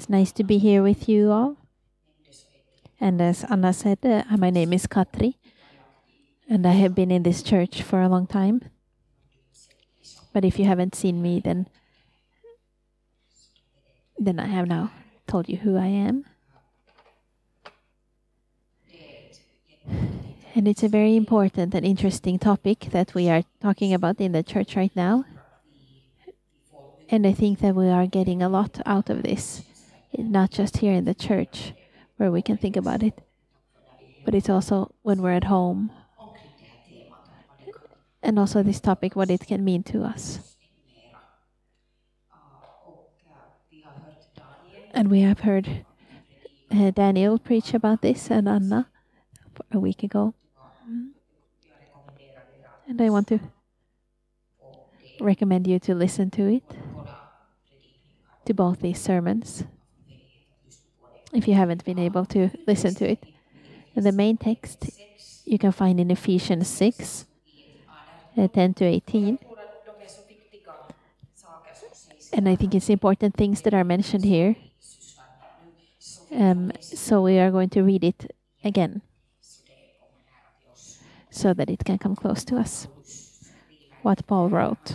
It's nice to be here with you all. And as Anna said, my name is Katri, and I have been in this church for a long time. But if you haven't seen me, then I have now told you who I am. And it's a very important and interesting topic that we are talking about in the church right now. And I think that we are getting a lot out of this, not just here in the church where we can think about it, but it's also when we're at home. And also this topic, what it can mean to us. And we have heard Daniel preach about this and Anna a week ago. And I want to recommend you to listen to it, to both these sermons, if you haven't been able to listen to it. And the main text you can find in Ephesians 6, 10 to 18. And I think it's important things that are mentioned here. So we are going to read it again so that it can come close to us. What Paul wrote.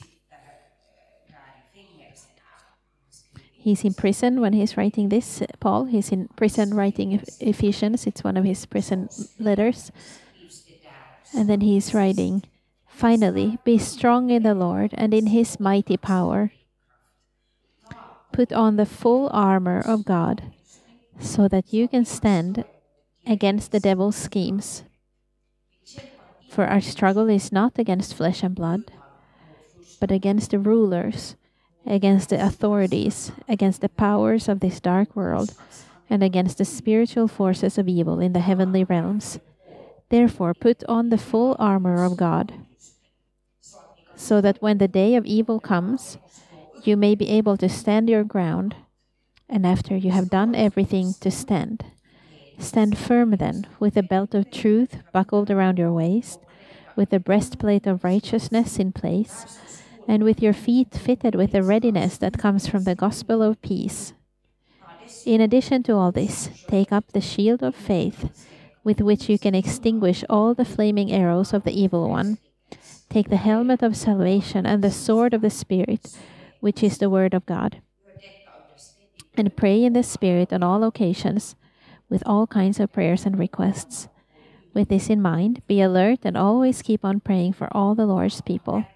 He's in prison when he's writing this, Paul. He's in prison writing Ephesians. It's one of his prison letters. And then he's writing, "Finally, be strong in the Lord and in his mighty power. Put on the full armor of God so that you can stand against the devil's schemes. For our struggle is not against flesh and blood, but against the rulers, against the authorities, against the powers of this dark world, and against the spiritual forces of evil in the heavenly realms. Therefore, put on the full armor of God, so that when the day of evil comes, you may be able to stand your ground, and after you have done everything, to stand. Stand firm then, with a belt of truth buckled around your waist, with the breastplate of righteousness in place, and with your feet fitted with the readiness that comes from the gospel of peace. In addition to all this, take up the shield of faith, with which you can extinguish all the flaming arrows of the evil one. Take the helmet of salvation and the sword of the Spirit, which is the word of God. And pray in the Spirit on all occasions, with all kinds of prayers and requests. With this in mind, be alert and always keep on praying for all the Lord's people."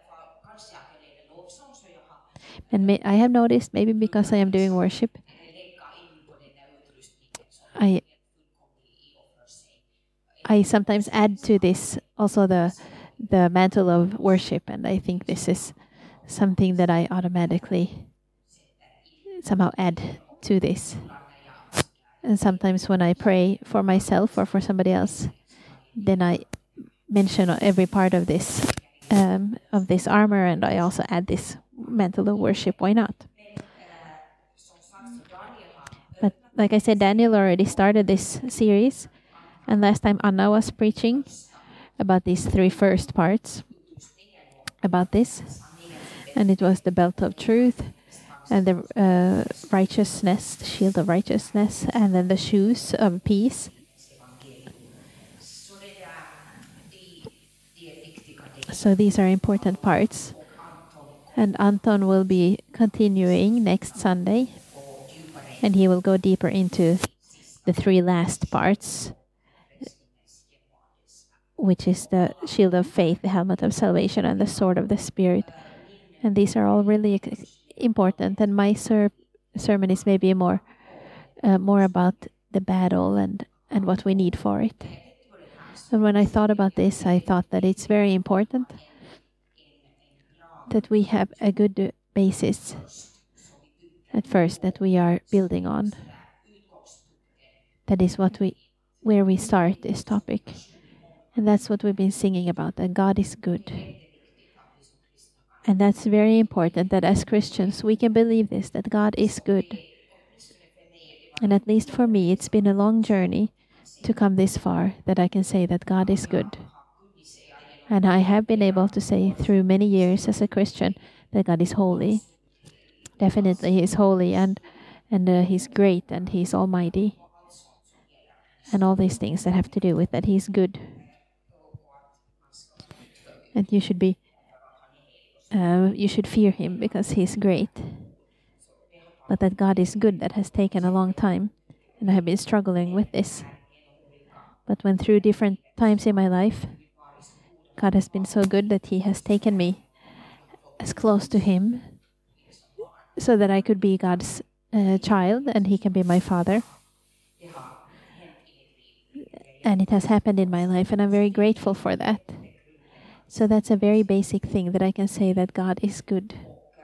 And I have noticed, maybe because I am doing worship, I sometimes add to this also the mantle of worship, and I think this is something that I automatically somehow add to this. And sometimes when I pray for myself or for somebody else, then I mention every part of this armor, and I also add this mantle of worship. Why not? But like I said, Daniel already started this series, and last time Anna was preaching about these three first parts about this, and it was the belt of truth, and the righteousness, the shield of righteousness, and then the shoes of peace. So these are important parts. And Anton will be continuing next Sunday, and he will go deeper into the three last parts, which is the shield of faith, the helmet of salvation, and the sword of the Spirit. And these are all really important. And my sermon is maybe more about the battle and what we need for it. And when I thought about this, I thought that it's very important that we have a good basis at first that we are building on. That is where we start this topic. And that's what we've been singing about, that God is good. And that's very important, that as Christians we can believe this, that God is good. And at least for me, it's been a long journey to come this far, that I can say that God is good. And I have been able to say through many years as a Christian that God is holy. Definitely He is holy, and and He's great, and He's almighty, and all these things that have to do with that He's good, and you should fear Him because He's great. But that God is good, that has taken a long time, and I have been struggling with this. But when through different times in my life, God has been so good that He has taken me as close to Him so that I could be God's child and He can be my Father. And it has happened in my life, and I'm very grateful for that. So that's a very basic thing that I can say that God is good.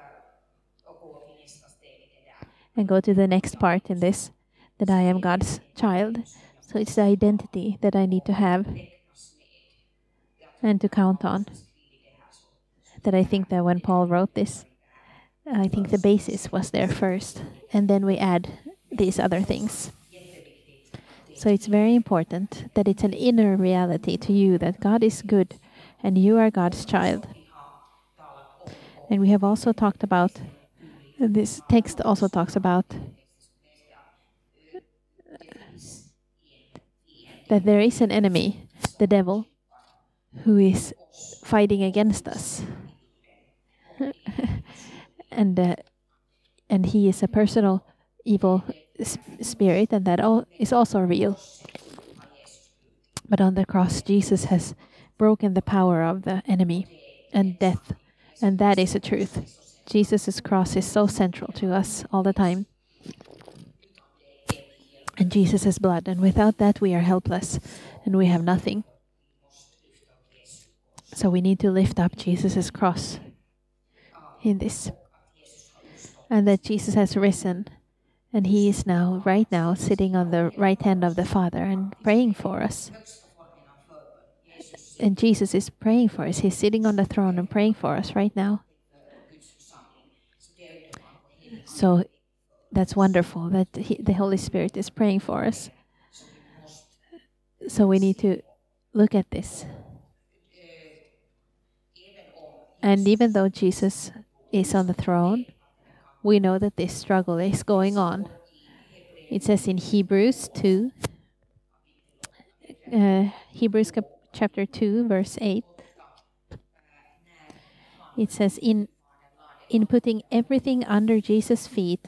And go to the next part in this, that I am God's child. So it's the identity that I need to have and to count on. That I think that when Paul wrote this, I think the basis was there first, and then we add these other things. So it's very important that it's an inner reality to you that God is good and you are God's child. And we have also talked about, this text also talks about that there is an enemy, the devil, who is fighting against us. And he is a personal evil spirit, and that is also real. But on the cross, Jesus has broken the power of the enemy and death, and that is a truth. Jesus' cross is so central to us all the time. And Jesus' blood, and without that we are helpless and we have nothing. So we need to lift up Jesus' cross in this. And that Jesus has risen, and He is now, right now, sitting on the right hand of the Father and praying for us. And Jesus is praying for us. He's sitting on the throne and praying for us right now. So that's wonderful that the Holy Spirit is praying for us. So we need to look at this. And even though Jesus is on the throne, we know that this struggle is going on. It says in Hebrews 2, chapter 2, verse 8, it says, in putting everything under Jesus' feet,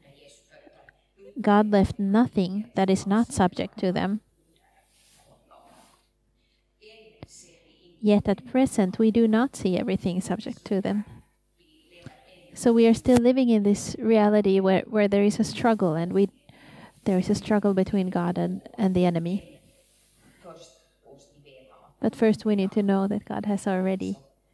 God left nothing that is not subject to them. Yet at present, we do not see everything subject to them. So we are still living in this reality where there is a struggle, and there is a struggle between God and the enemy. But first we need to know that God has already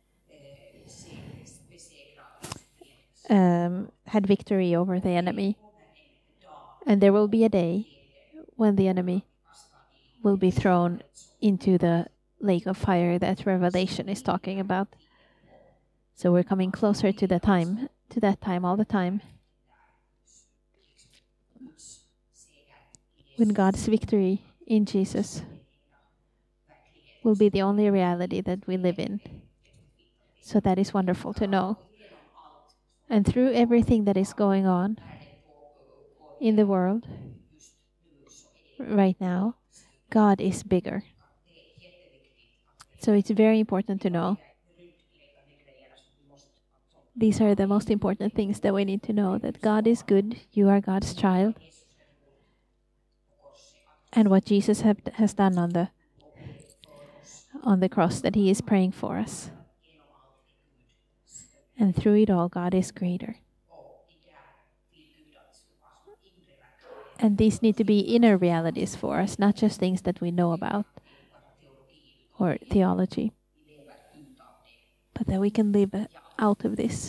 had victory over the enemy. And there will be a day when the enemy will be thrown into the lake of fire that Revelation is talking about. So we're coming closer to that time all the time, when God's victory in Jesus will be the only reality that we live in. So that is wonderful to know. And through everything that is going on in the world right now, God is bigger. So it's very important to know. These are the most important things that we need to know, that God is good, you are God's child, and what Jesus has done on the cross, that He is praying for us. And through it all, God is greater. And these need to be inner realities for us, not just things that we know about or theology, but that we can live out of this.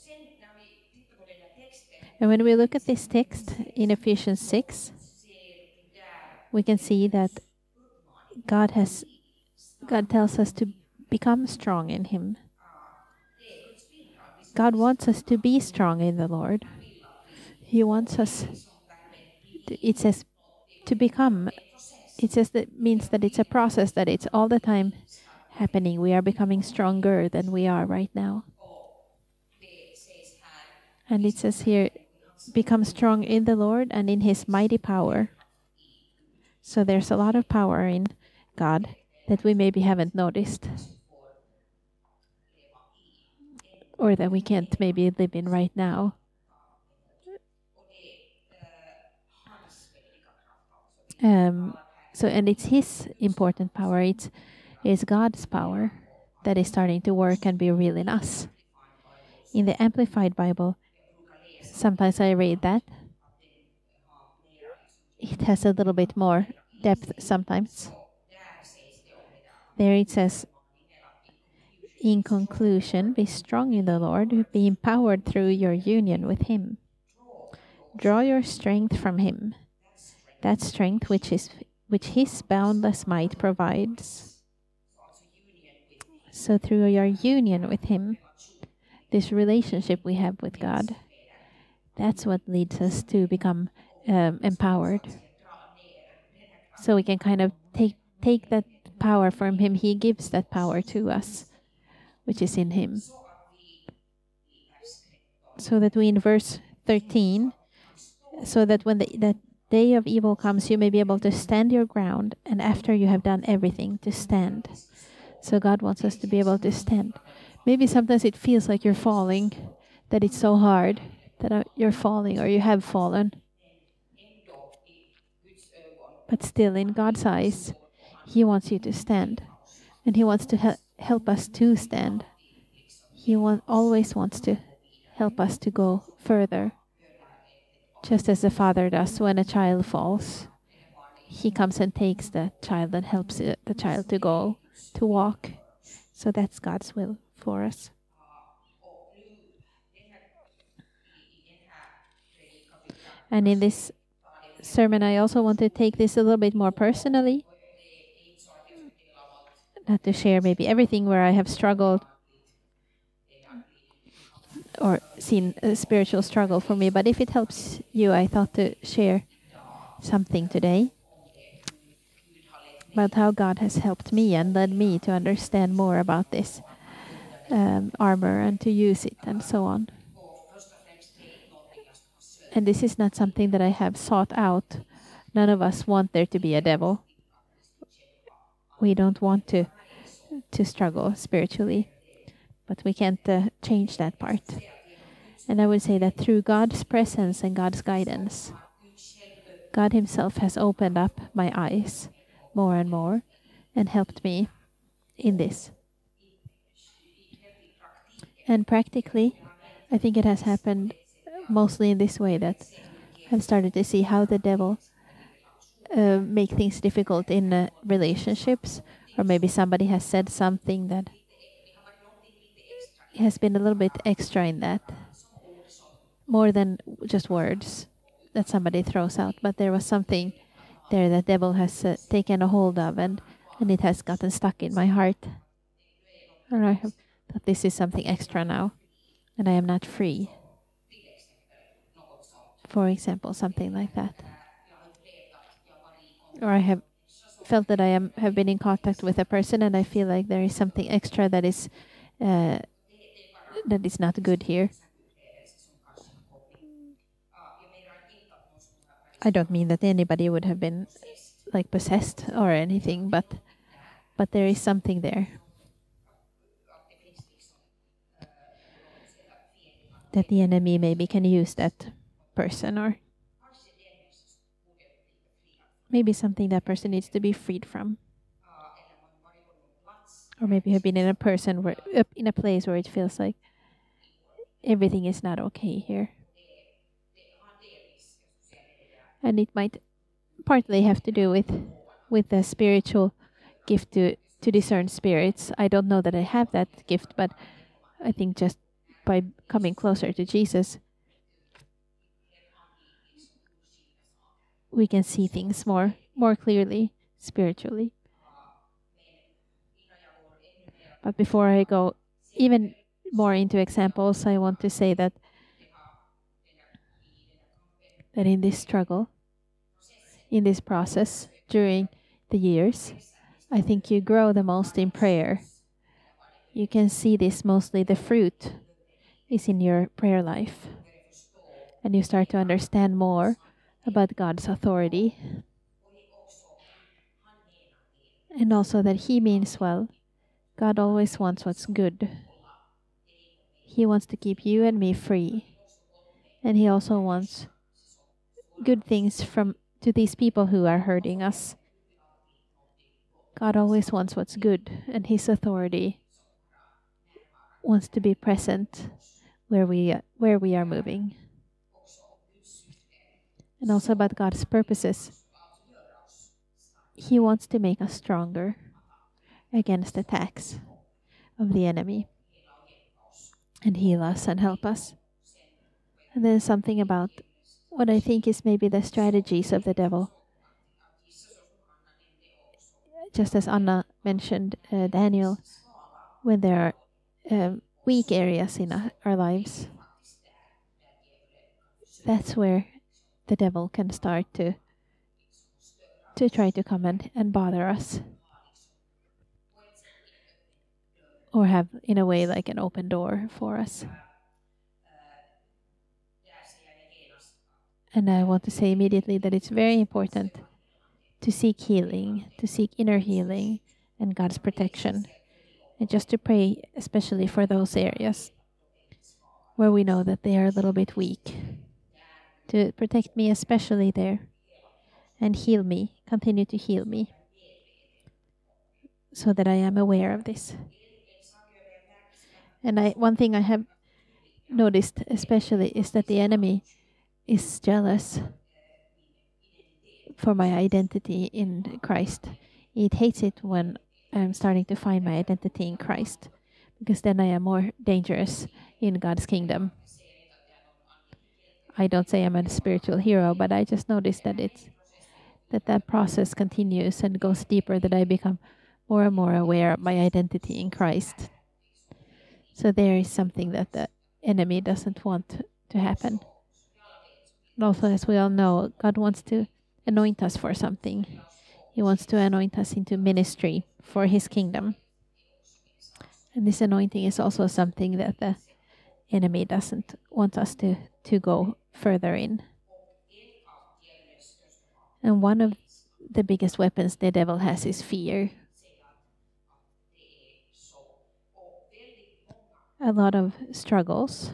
And when we look at this text in Ephesians 6, we can see that God tells us to become strong in Him. God wants us to be strong in the Lord. He wants us, it says, to become. It says that means that it's a process, that it's all the time happening. We are becoming stronger than we are right now. And it says here become strong in the Lord and in his mighty power. So there's a lot of power in God that we maybe haven't noticed or that we can't maybe live in right now. Um, and it's his important power. It's God's power that is starting to work and be real in us. In the Amplified Bible, sometimes I read that. It has a little bit more depth sometimes. There it says, in conclusion, be strong in the Lord, be empowered through your union with him. Draw your strength from him, that strength which his boundless might provides. So through your union with him, this relationship we have with God, that's what leads us to become empowered. So we can kind of take that power from him. He gives that power to us, which is in him. So that we in verse 13, so that when that day of evil comes, you may be able to stand your ground, and after you have done everything, to stand. So God wants us to be able to stand. Maybe sometimes it feels like you're falling, that it's so hard, that you're falling or you have fallen. But still, in God's eyes, he wants you to stand. And he wants to help us to stand. He always wants to help us to go further. Just as the father does when a child falls. He comes and takes the child and helps the child to go, to walk. So that's God's will for us. And in this sermon, I also want to take this a little bit more personally. Not to share maybe everything where I have struggled or seen a spiritual struggle for me, but if it helps you, I thought to share something today about how God has helped me and led me to understand more about this armor and to use it and so on. And this is not something that I have sought out. None of us want there to be a devil. We don't want to struggle spiritually, but we can't change that part. And I would say that through God's presence and God's guidance, God himself has opened up my eyes more and more and helped me in this. And practically, I think it has happened mostly in this way, that I've started to see how the devil make things difficult in relationships, or maybe somebody has said something that has been a little bit extra in that, more than just words that somebody throws out, but there was something there that devil has taken a hold of, and it has gotten stuck in my heart. And I have thought this is something extra now, and I am not free. For example, something like that. Or I have felt that I have been in contact with a person, and I feel like there is something extra that is not good here. I don't mean that anybody would have been like possessed or anything, but there is something there that the enemy maybe can use that person, or maybe something that person needs to be freed from. Or maybe you have been in a place where it feels like everything is not okay here. And it might partly have to do with the spiritual gift to discern spirits. I don't know that I have that gift, but I think just by coming closer to Jesus, we can see things more clearly spiritually. But before I go even more into examples, I want to say that in this struggle, in this process, during the years, I think you grow the most in prayer. You can see this mostly, the fruit is in your prayer life. and you start to understand more about God's authority, and also that He means well. God always wants what's good. He wants to keep you and me free. And He also wants good things to these people who are hurting us. God always wants what's good, and His authority wants to be present where we are moving. And also about God's purposes. He wants to make us stronger against attacks of the enemy and heal us and help us. And then something about what I think is maybe the strategies of the devil. Just as Anna mentioned, Daniel, when there are weak areas in our lives, that's where the devil can start to try to come and bother us. Or have, in a way, like an open door for us. And I want to say immediately that it's very important to seek healing, to seek inner healing and God's protection. And just to pray, especially for those areas where we know that they are a little bit weak. To protect me, especially there. And heal me, continue to heal me. So that I am aware of this. And one thing I have noticed especially is that the enemy is jealous for my identity in Christ. It hates it when I'm starting to find my identity in Christ, because then I am more dangerous in God's kingdom. I don't say I'm a spiritual hero, but I just noticed that that process continues and goes deeper, that I become more and more aware of my identity in Christ. So there is something that the enemy doesn't want to happen. And also, as we all know, God wants to anoint us for something. He wants to anoint us into ministry for His kingdom. And this anointing is also something that the enemy doesn't want us to go further in. And one of the biggest weapons the devil has is fear. A lot of struggles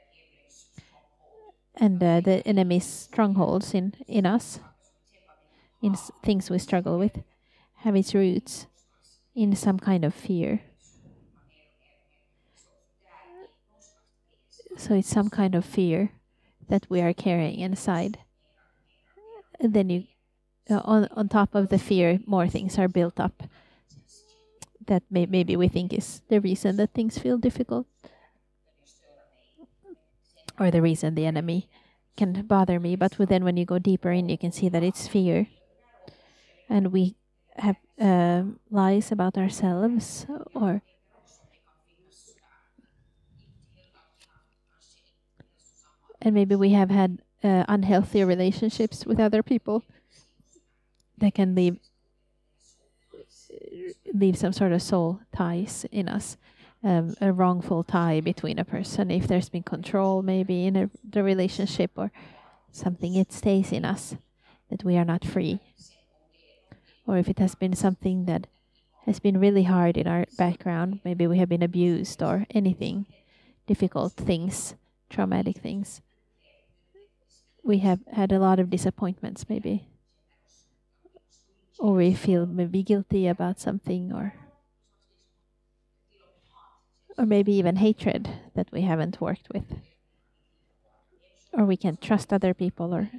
and the enemy's strongholds in us, in things we struggle with, have its roots in some kind of fear. So it's some kind of fear that we are carrying inside. And then you, on top of the fear, more things are built up that maybe we think is the reason that things feel difficult, or the reason the enemy can bother me. But then when you go deeper in, you can see that it's fear. And we have lies about ourselves, and maybe we have had unhealthy relationships with other people that can leave some sort of soul ties in us, a wrongful tie between a person. If there's been control maybe in the relationship or something, it stays in us, that we are not free. Or if it has been something that has been really hard in our background, maybe we have been abused or anything, difficult things, traumatic things. We have had a lot of disappointments maybe. Or we feel maybe guilty about something, or maybe even hatred that we haven't worked with. Or we can't trust other people, or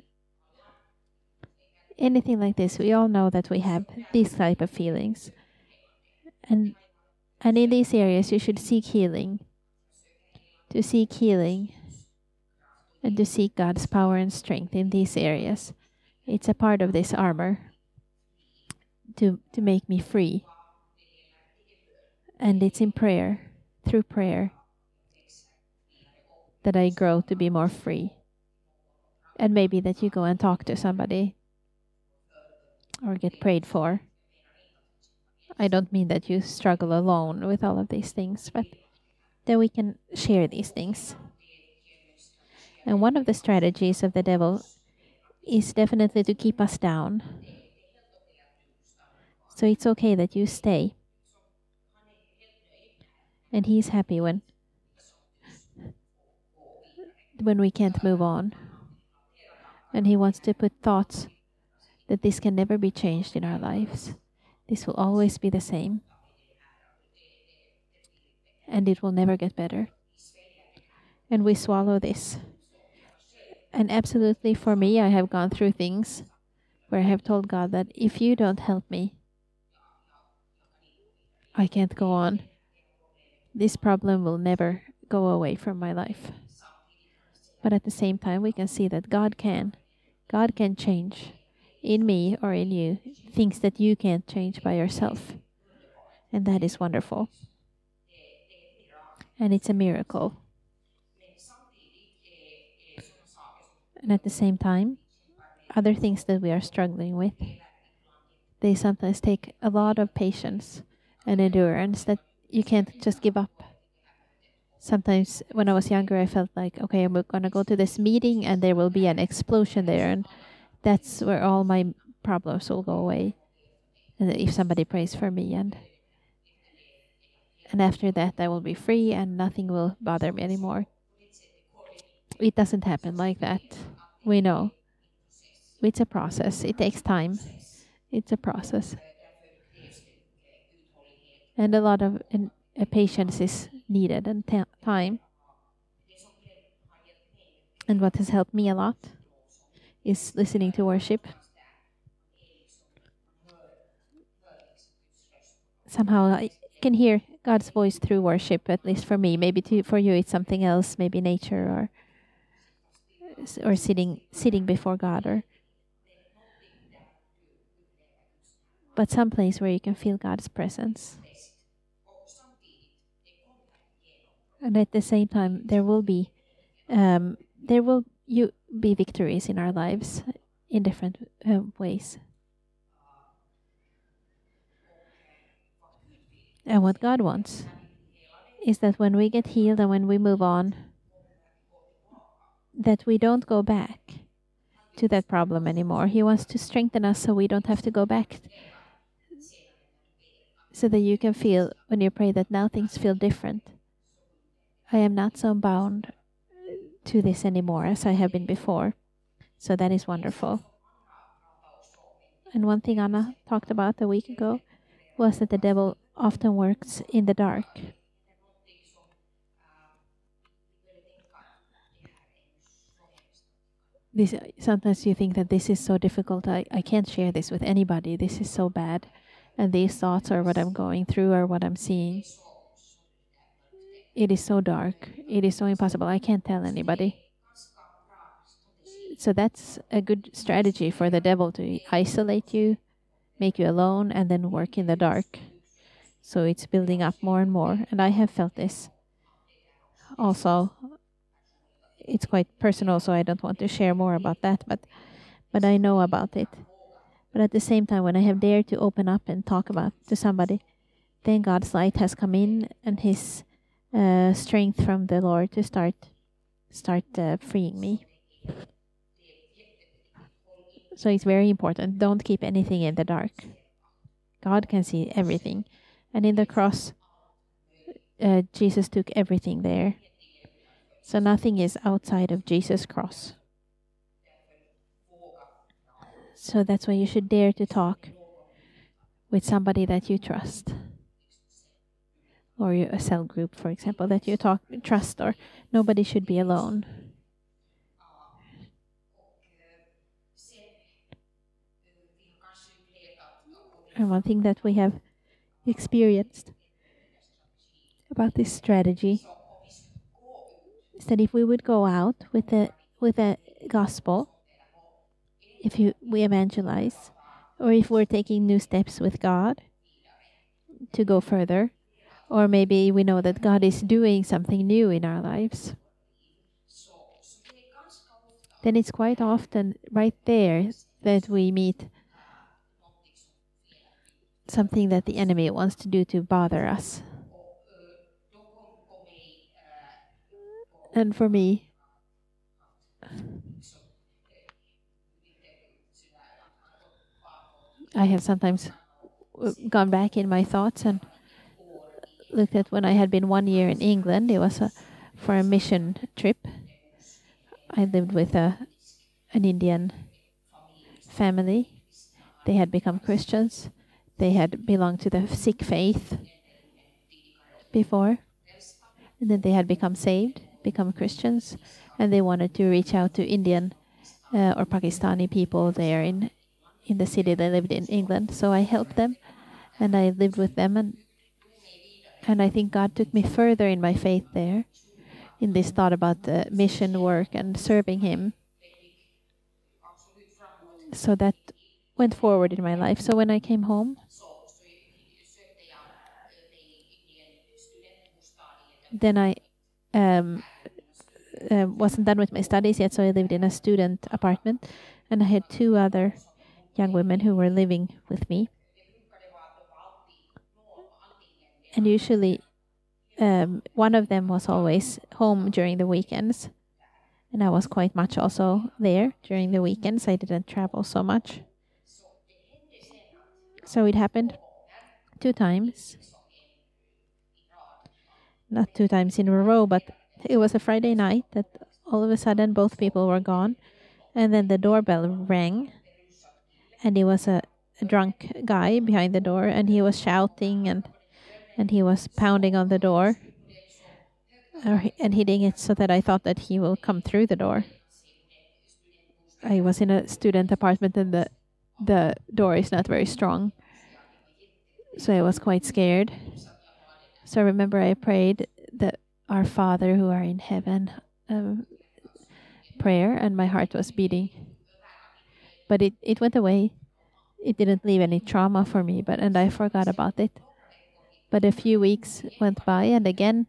anything like this. We all know that we have these type of feelings. And in these areas you should seek healing. To seek healing and to seek God's power and strength in these areas. It's a part of this armor to make me free. And it's in prayer, through prayer, that I grow to be more free. And maybe that you go and talk to somebody or get prayed for. I don't mean that you struggle alone with all of these things, but that we can share these things. And one of the strategies of the devil is definitely to keep us down. So it's okay that you stay. And he's happy when we can't move on. And he wants to put thoughts that this can never be changed in our lives. This will always be the same. And it will never get better. And we swallow this. And absolutely for me, I have gone through things where I have told God that if you don't help me, I can't go on. This problem will never go away from my life. But at the same time, we can see that God can. God can change in me or in you things that you can't change by yourself. And that is wonderful. And it's a miracle. And at the same time, other things that we are struggling with, they sometimes take a lot of patience and endurance that you can't just give up. Sometimes when I was younger, I felt like, okay, I'm going to go to this meeting and there will be an explosion there. And that's where all my problems will go away. And if somebody prays for me. And after that, I will be free and nothing will bother me anymore. It doesn't happen like that. We know. It's a process. It takes time. It's a process. And a lot of patience is needed and time. And what has helped me a lot is listening to worship. Somehow I can hear God's voice through worship, at least for me. Maybe for you it's something else, maybe nature or sitting before God, but some place where you can feel God's presence. And at the same time, there will be victories in our lives in different ways. And what God wants is that when we get healed and when we move on, that we don't go back to that problem anymore. He wants to strengthen us so we don't have to go back. So that you can feel when you pray that now things feel different. I am not so bound to this anymore as I have been before. So that is wonderful. And one thing Anna talked about a week ago was that the devil often works in the dark. Sometimes you think that this is so difficult. I can't share this with anybody. This is so bad. And these thoughts are what I'm going through or what I'm seeing. It is so dark. It is so impossible. I can't tell anybody. So that's a good strategy for the devil to isolate you, make you alone, and then work in the dark. So it's building up more and more. And I have felt this. Also, it's quite personal, so I don't want to share more about that, but I know about it. But at the same time, when I have dared to open up and talk about to somebody, then God's light has come in and His strength from the Lord to start freeing me. So it's very important. Don't keep anything in the dark. God can see everything. And in the cross, Jesus took everything there. So nothing is outside of Jesus' cross. So that's why you should dare to talk with somebody that you trust. Or a cell group, for example, that you trust, or nobody should be alone. And one thing that we have experienced about this strategy is that if we would go out with the gospel, we evangelize, or if we're taking new steps with God to go further, or maybe we know that God is doing something new in our lives, then it's quite often right there that we meet something that the enemy wants to do to bother us. And for me, I have sometimes gone back in my thoughts and looked at when I had been 1 year in England. It was for a mission trip. I lived with an Indian family. They had become Christians. They had belonged to the Sikh faith before. And then they had become saved, become Christians, and they wanted to reach out to Indian or Pakistani people there in the city they lived in England. So I helped them, and I lived with them, and I think God took me further in my faith there, in this thought about the mission work and serving Him. So that went forward in my life. So when I came home, then I um, wasn't done with my studies yet, so I lived in a student apartment, and I had two other young women who were living with me. And usually, one of them was always home during the weekends, and I was quite much also there during the weekends. I didn't travel so much. So it happened 2 times, not 2 times in a row, but it was a Friday night that all of a sudden both people were gone, and then the doorbell rang, and it was a drunk guy behind the door, and he was shouting and he was pounding on the door and hitting it so that I thought that he will come through the door. I was in a student apartment and the door is not very strong, so I was quite scared. So I remember I prayed the Our Father who are in heaven prayer, and my heart was beating. But it went away. It didn't leave any trauma for me, and I forgot about it. But a few weeks went by, and again,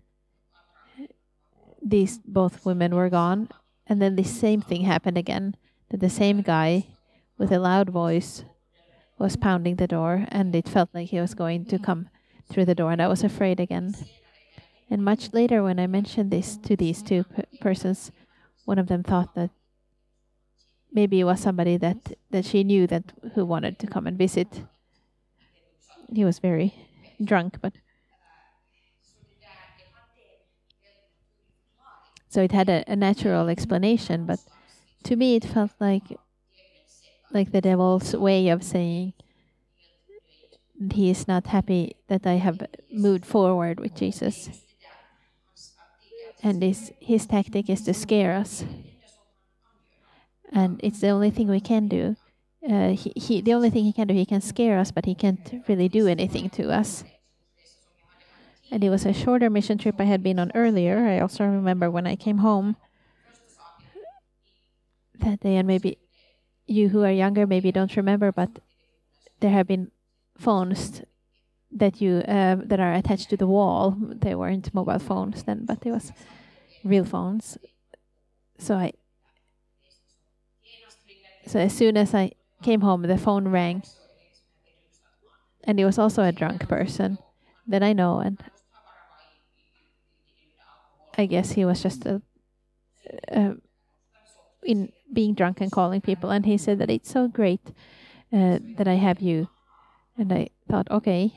these both women were gone, and then the same thing happened again. That the same guy with a loud voice was pounding the door, and it felt like he was going to come through the door, and I was afraid again. And much later, when I mentioned this to these two persons, one of them thought that maybe it was somebody that she knew that who wanted to come and visit. He was very drunk, but so it had a natural explanation. But to me, it felt like the devil's way of saying he is not happy that I have moved forward with Jesus, and his tactic is to scare us, and it's the only thing we can do. The only thing he can do, he can scare us, but he can't really do anything to us. And it was a shorter mission trip I had been on earlier. I also remember when I came home that day, and maybe you who are younger maybe don't remember, but there have been phones that that are attached to the wall. They weren't mobile phones then, but it was real phones. So as soon as I came home, the phone rang, and it was also a drunk person that I know, and I guess he was just in being drunk and calling people, and he said that it's so great that I have you, and I thought, okay,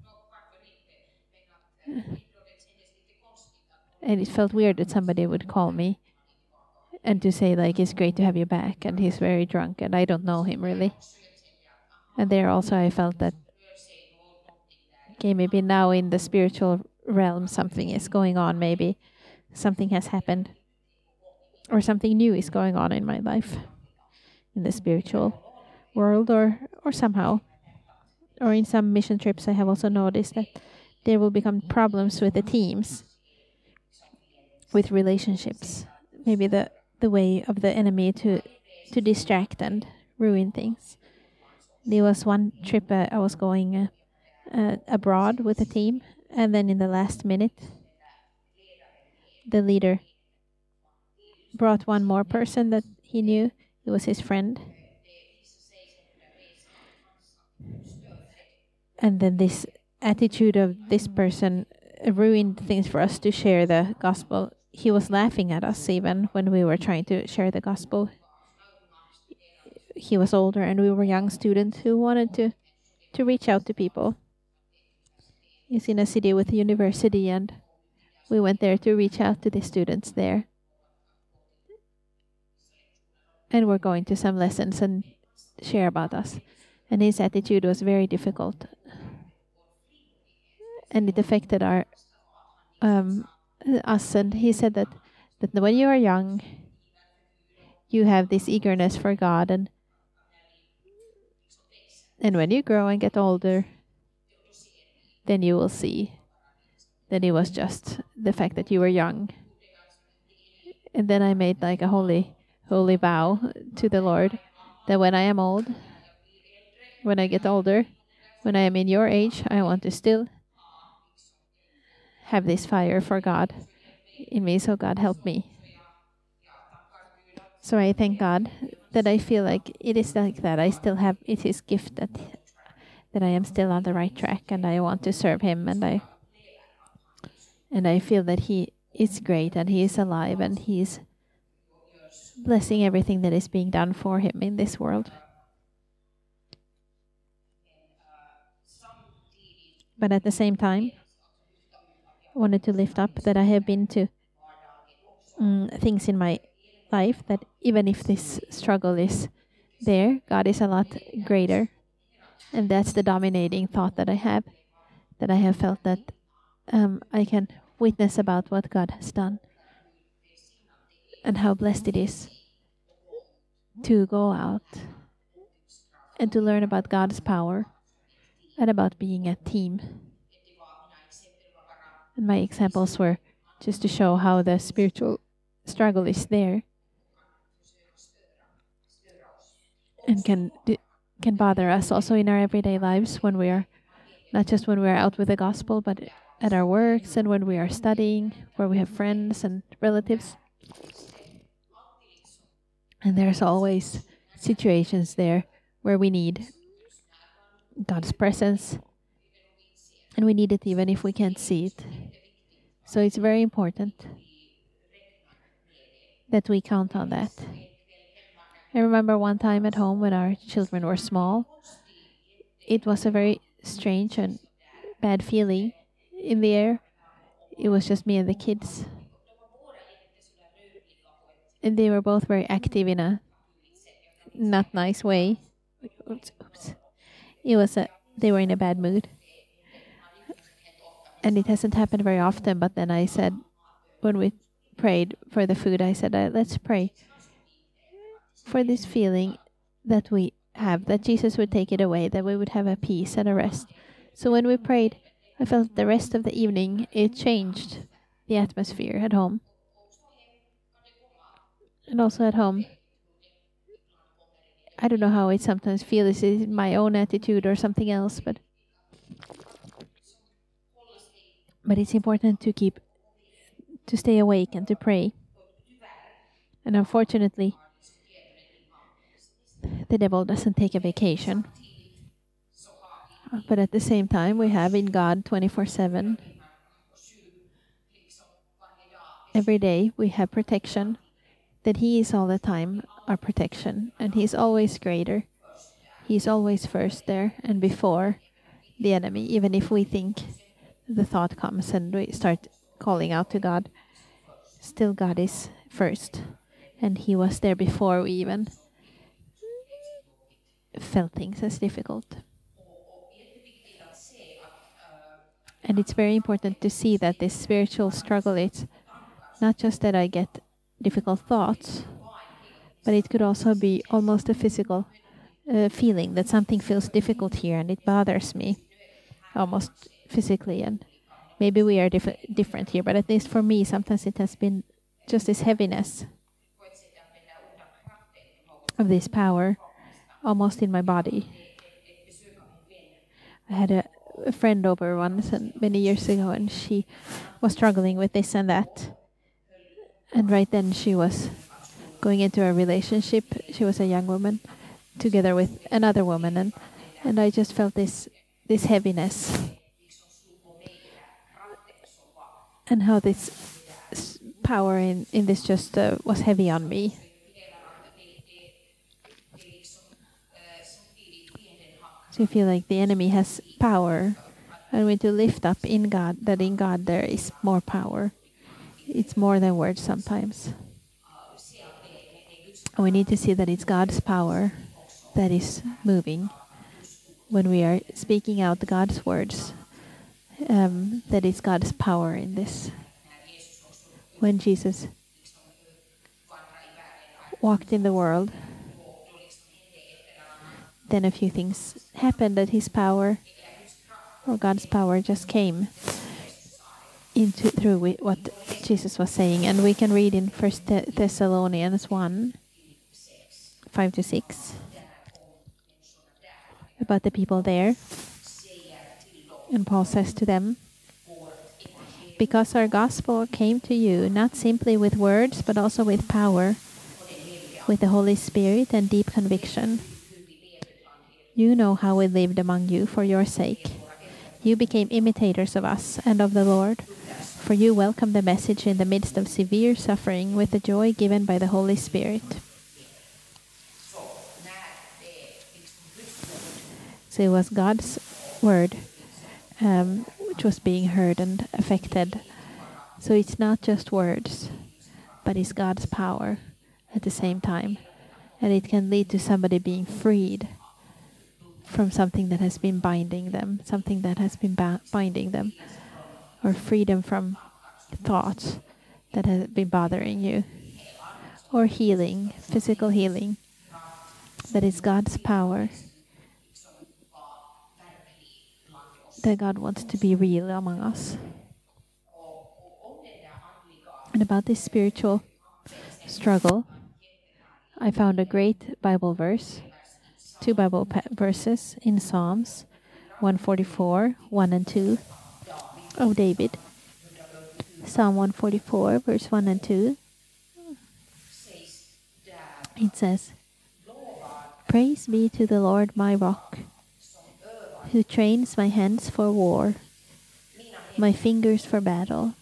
and it felt weird that somebody would call me and to say like it's great to have you back, and he's very drunk and I don't know him really. And there also I felt that okay, maybe now in the spiritual realm something is going on, maybe something has happened or something new is going on in my life in the spiritual world, or somehow, or in some mission trips I have also noticed that there will become problems with the teams, with relationships, maybe the way of the enemy to distract and ruin things. There was one trip I was going abroad with a team, and then in the last minute the leader brought one more person that he knew. It was his friend. And then this attitude of this person ruined things for us to share the gospel he was laughing at us even when we were trying to share the gospel. He was older and we were young students who wanted to reach out to people. He's in a city with a university, and we went there to reach out to the students there. And we're going to some lessons and share about us. And his attitude was very difficult. And it affected our us. And he said that when you are young, you have this eagerness for God, and when you grow and get older, then you will see that it was just the fact that you were young. And then I made like a holy vow to the Lord that when I am old, when I get older, when I am in your age, I want to still have this fire for God in me. So God help me. So I thank God that I feel like it is like that. I still have it His gift that I am still on the right track, and I want to serve Him, and I feel that He is great and He is alive and He is blessing everything that is being done for Him in this world. But at the same time, I wanted to lift up that I have been to things in my life that even if this struggle is there, God is a lot greater. And that's the dominating thought that I have felt that I can witness about what God has done and how blessed it is to go out and to learn about God's power and about being a team. And my examples were just to show how the spiritual struggle is there and can bother us also in our everyday lives when we are, not just when we are out with the gospel, but at our works and when we are studying, where we have friends and relatives. And there's always situations there where we need God's presence, and we need it even if we can't see it. So it's very important that we count on that. I remember one time at home when our children were small, it was a very strange and bad feeling in the air. It was just me and the kids. And they were both very active in a not nice way. Oops. They were in a bad mood. And it hasn't happened very often, but then I said, when we prayed for the food, I said, let's pray for this feeling that we have, that Jesus would take it away, that we would have a peace and a rest. So when we prayed, I felt the rest of the evening, it changed the atmosphere at home. And also at home, I don't know how it sometimes feels. Is it my own attitude or something else? But it's important to stay awake and to pray. And unfortunately, the devil doesn't take a vacation. But at the same time, we have in God 24/7. Every day we have protection, that He is all the time our protection, and He's always greater. He's always first there and before the enemy, even if we think the thought comes and we start calling out to God. Still God is first, and He was there before we even felt things as difficult. And it's very important to see that this spiritual struggle, it's not just that I get difficult thoughts, but it could also be almost a physical feeling that something feels difficult here and it bothers me almost physically. And maybe we are different here, but at least for me, sometimes it has been just this heaviness of this power almost in my body. I had a friend over once and many years ago, and she was struggling with this and that. And right then she was going into a relationship. She was a young woman together with another woman, and I just felt this heaviness and how this power in this just was heavy on me. So you feel like the enemy has power, and we need to lift up in God that in God there is more power. It's more than words sometimes. And we need to see that it's God's power that is moving when we are speaking out God's words. That is God's power in this. When Jesus walked in the world, then a few things happened that his power or God's power just came into through what Jesus was saying. And we can read in 1 Thessalonians 1, 5-6 about the people there. And Paul says to them, because our gospel came to you not simply with words, but also with power, with the Holy Spirit and deep conviction. You know how we lived among you for your sake. You became imitators of us and of the Lord, for you welcomed the message in the midst of severe suffering with the joy given by the Holy Spirit. So it was God's word which was being heard and affected. So it's not just words, but it's God's power at the same time. And it can lead to somebody being freed from something that has been binding them, something that has been binding them, or freedom from thoughts that have been bothering you, or healing, physical healing. That is God's power. That God wants to be real among us. And about this spiritual struggle, I found a great Bible verse, two Bible verses in Psalms 144, 1 and 2 of David. Psalm 144, verse 1 and 2. It says, praise be to the Lord my rock, who trains my hands for war, my fingers for battle.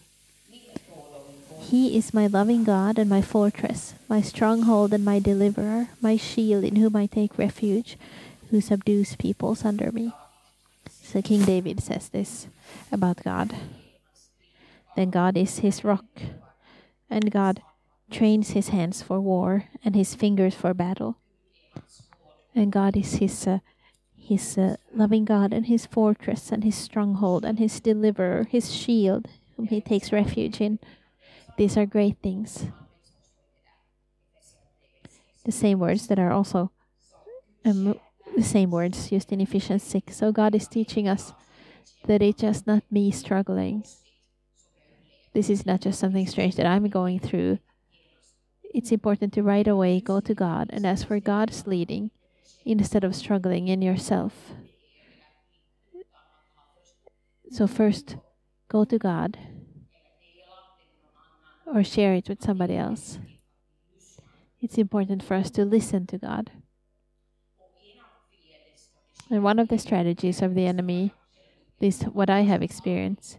He is my loving God and my fortress, my stronghold and my deliverer, my shield in whom I take refuge, who subdues peoples under me. So King David says this about God. Then God is his rock, and God trains his hands for war and his fingers for battle. And God is his loving God and his fortress and his stronghold and his deliverer, his shield, whom he takes refuge in. These are great things. The same words that are also the same words used in Ephesians 6. So God is teaching us that it's just not me struggling. This is not just something strange that I'm going through. It's important to right away go to God and ask for God's leading instead of struggling in yourself. So first, go to God or share it with somebody else. It's important for us to listen to God. And one of the strategies of the enemy, this what I have experienced,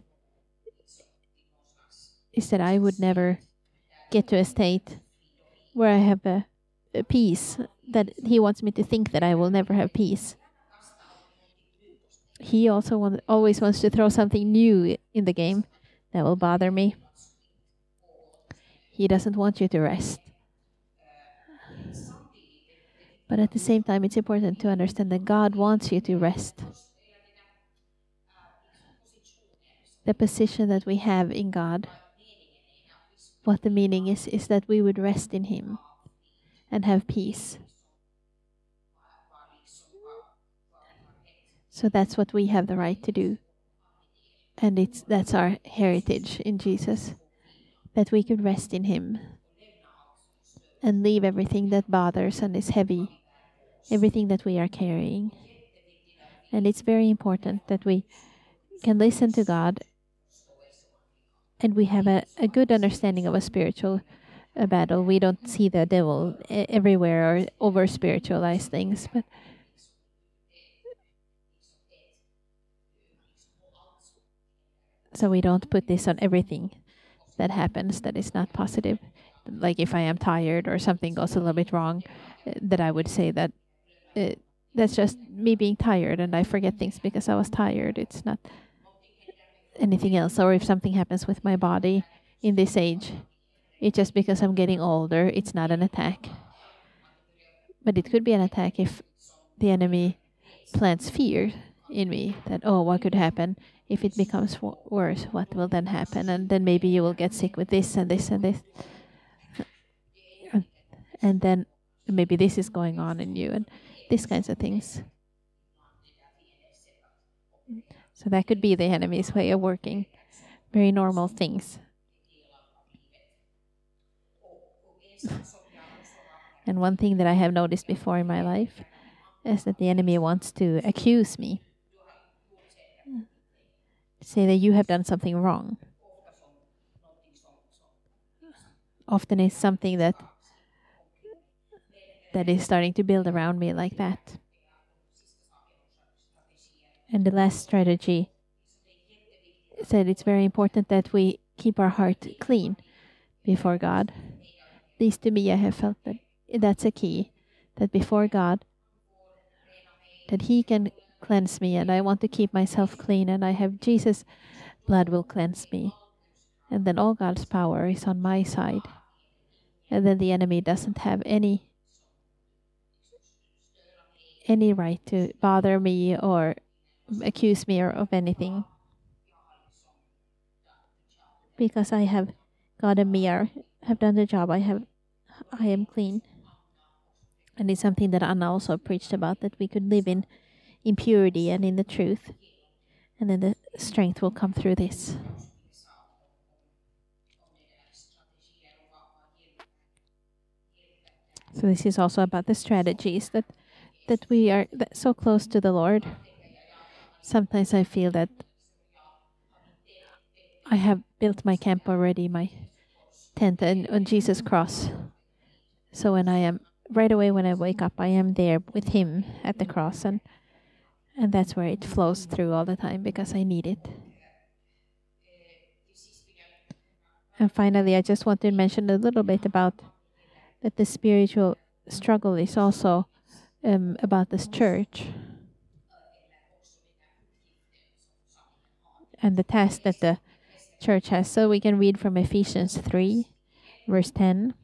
is that I would never get to a state where I have a peace, that he wants me to think that I will never have peace. He also always wants to throw something new in the game that will bother me. He doesn't want you to rest. But at the same time, it's important to understand that God wants you to rest. The position that we have in God, what the meaning is that we would rest in Him and have peace. So that's what we have the right to do. And that's our heritage in Jesus, that we could rest in Him and leave everything that bothers and is heavy, everything that we are carrying. And it's very important that we can listen to God and we have a good understanding of a spiritual battle. We don't see the devil everywhere or over spiritualize things, but so we don't put this on everything. that happens that is not positive. Like if I am tired or something goes a little bit wrong, that I would say that that's just me being tired and I forget things because I was tired. It's not anything else. Or if something happens with my body in this age, it's just because I'm getting older. It's not an attack. But it could be an attack if the enemy plants fear in me that, oh, what could happen if it becomes worse? What will then happen? And then maybe you will get sick with this and this and this. And then maybe this is going on in you and these kinds of things. So that could be the enemy's way of working. Very normal things. And one thing that I have noticed before in my life is that the enemy wants to accuse me. Say that you have done something wrong. Often it's something that is starting to build around me like that. And the last strategy said it's very important that we keep our heart clean before God. At least to me, I have felt that that's a key. That before God, that He can cleanse me, and I want to keep myself clean, and I have Jesus' blood will cleanse me. And then all God's power is on my side. And then the enemy doesn't have any right to bother me or accuse me or of anything. Because I have God and me have done the job. I am clean. And it's something that Anna also preached about, that we could live in purity and in the truth. And then the strength will come through this. So this is also about the strategies that we are so close to the Lord. Sometimes I feel that I have built my camp already, my tent and on Jesus' cross. So when I am right away when I wake up, I am there with Him at the cross, and that's where it flows through all the time because I need it. And finally, I just want to mention a little bit about that the spiritual struggle is also about this church and the task that the church has. So we can read from Ephesians 3, verse 10.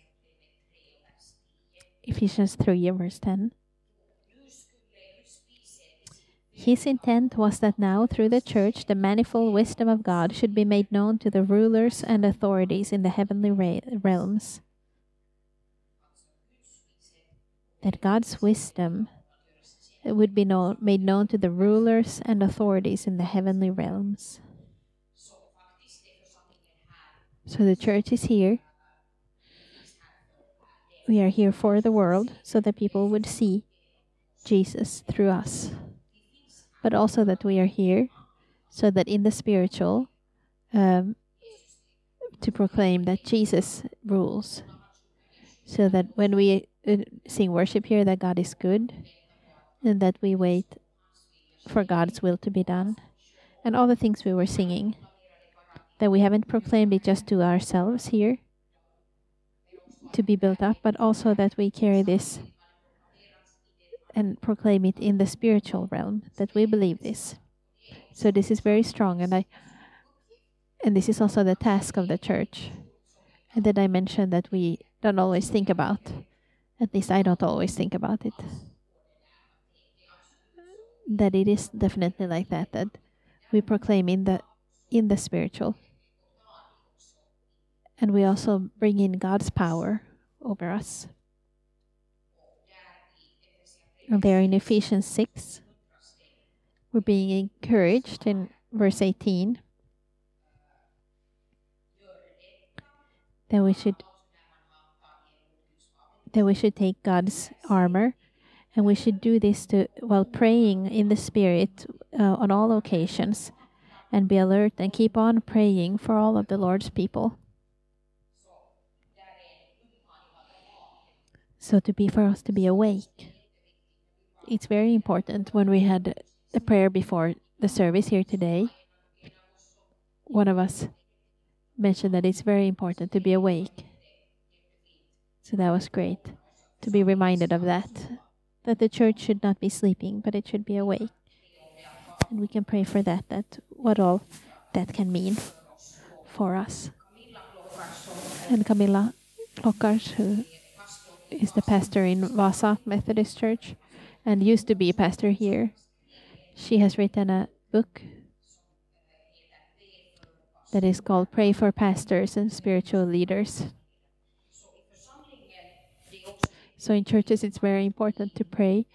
Ephesians 3, verse 10. His intent was that now, through the church, the manifold wisdom of God should be made known to the rulers and authorities in the heavenly realms. That God's wisdom would be made known to the rulers and authorities in the heavenly realms. So the church is here. We are here for the world so that people would see Jesus through us. But also that we are here so that in the spiritual, to proclaim that Jesus rules. So that when we sing worship here, that God is good, and that we wait for God's will to be done. And all the things we were singing, that we haven't proclaimed it just to ourselves here, to be built up, but also that we carry this and proclaim it in the spiritual realm, that we believe this. So this is very strong, and this is also the task of the church. And then I mentioned that we don't always think about, at least I don't always think about it, that it is definitely like that we proclaim in the spiritual. And we also bring in God's power over us. And there in Ephesians 6, we're being encouraged in verse 18 that we should take God's armor, and we should do this while praying in the Spirit on all occasions, and be alert and keep on praying for all of the Lord's people. So for us to be awake. It's very important. When we had the prayer before the service here today, one of us mentioned that it's very important to be awake. So that was great to be reminded of that the church should not be sleeping, but it should be awake. And we can pray for that what all that can mean for us. And Camilla Klockars, who is the pastor in Vasa Methodist Church and used to be a pastor here, she has written a book that is called Pray for Pastors and Spiritual Leaders. So in churches, it's very important to pray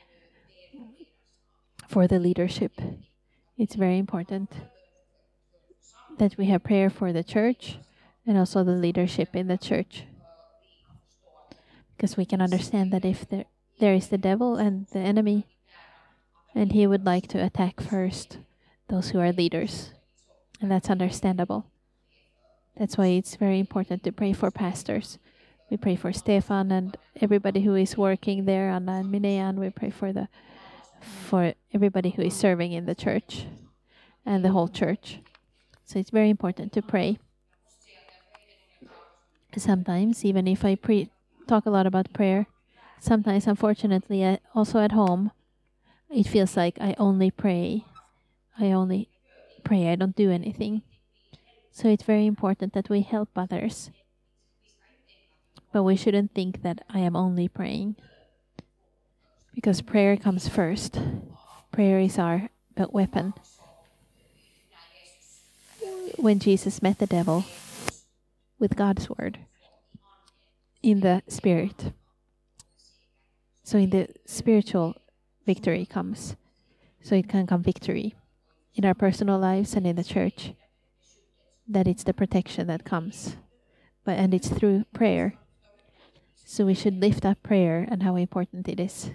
for the leadership. It's very important that we have prayer for the church and also the leadership in the church. Because we can understand that if there is the devil and the enemy, and he would like to attack first those who are leaders. And that's understandable. That's why it's very important to pray for pastors. We pray for Stefan and everybody who is working there, Anna and Minea, and we pray for everybody who is serving in the church and the whole church. So it's very important to pray. Sometimes, even if I talk a lot about prayer, sometimes, unfortunately, also at home, it feels like I only pray. I don't do anything. So it's very important that we help others. But we shouldn't think that I am only praying. Because prayer comes first. Prayer is our weapon. When Jesus met the devil with God's word in the spirit. So in the spiritual victory comes. So it can come victory in our personal lives and in the church. That it's the protection that comes. And it's through prayer. So we should lift up prayer and how important it is.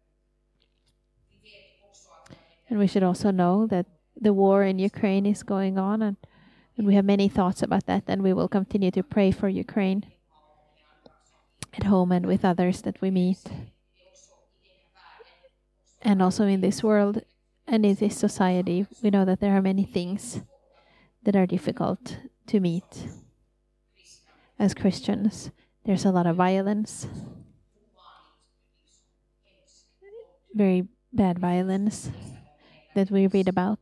And we should also know that the war in Ukraine is going on, and we have many thoughts about that, and we will continue to pray for Ukraine at home and with others that we meet. And also in this world and in this society, we know that there are many things that are difficult to meet. As Christians, there's a lot of violence, very bad violence that we read about,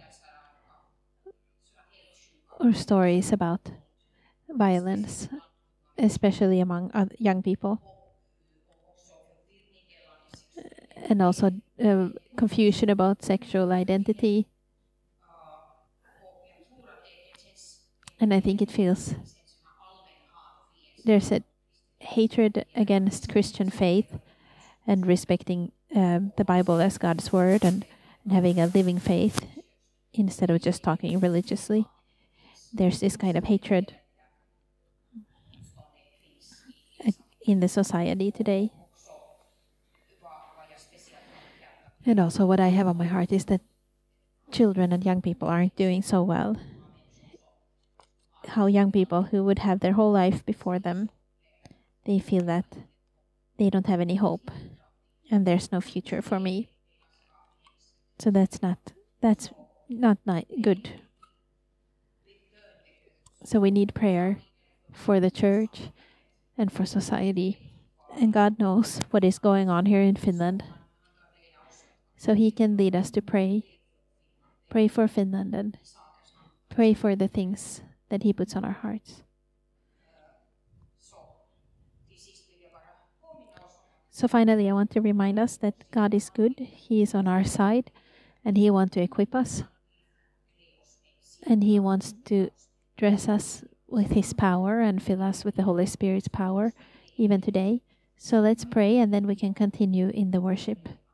or stories about violence, especially among young people, and also confusion about sexual identity. And I think it feels there's a hatred against Christian faith and respecting the Bible as God's word and having a living faith instead of just talking religiously. There's this kind of hatred in the society today. And also what I have on my heart is that children and young people aren't doing so well. How young people who would have their whole life before them, they feel that they don't have any hope and there's no future for me. So that's not good. So we need prayer for the church and for society. And God knows what is going on here in Finland. So He can lead us to pray. Pray for Finland and pray for the things that He puts on our hearts. So finally, I want to remind us that God is good. He is on our side and He wants to equip us. And He wants to dress us with His power and fill us with the Holy Spirit's power even today. So let's pray and then we can continue in the worship.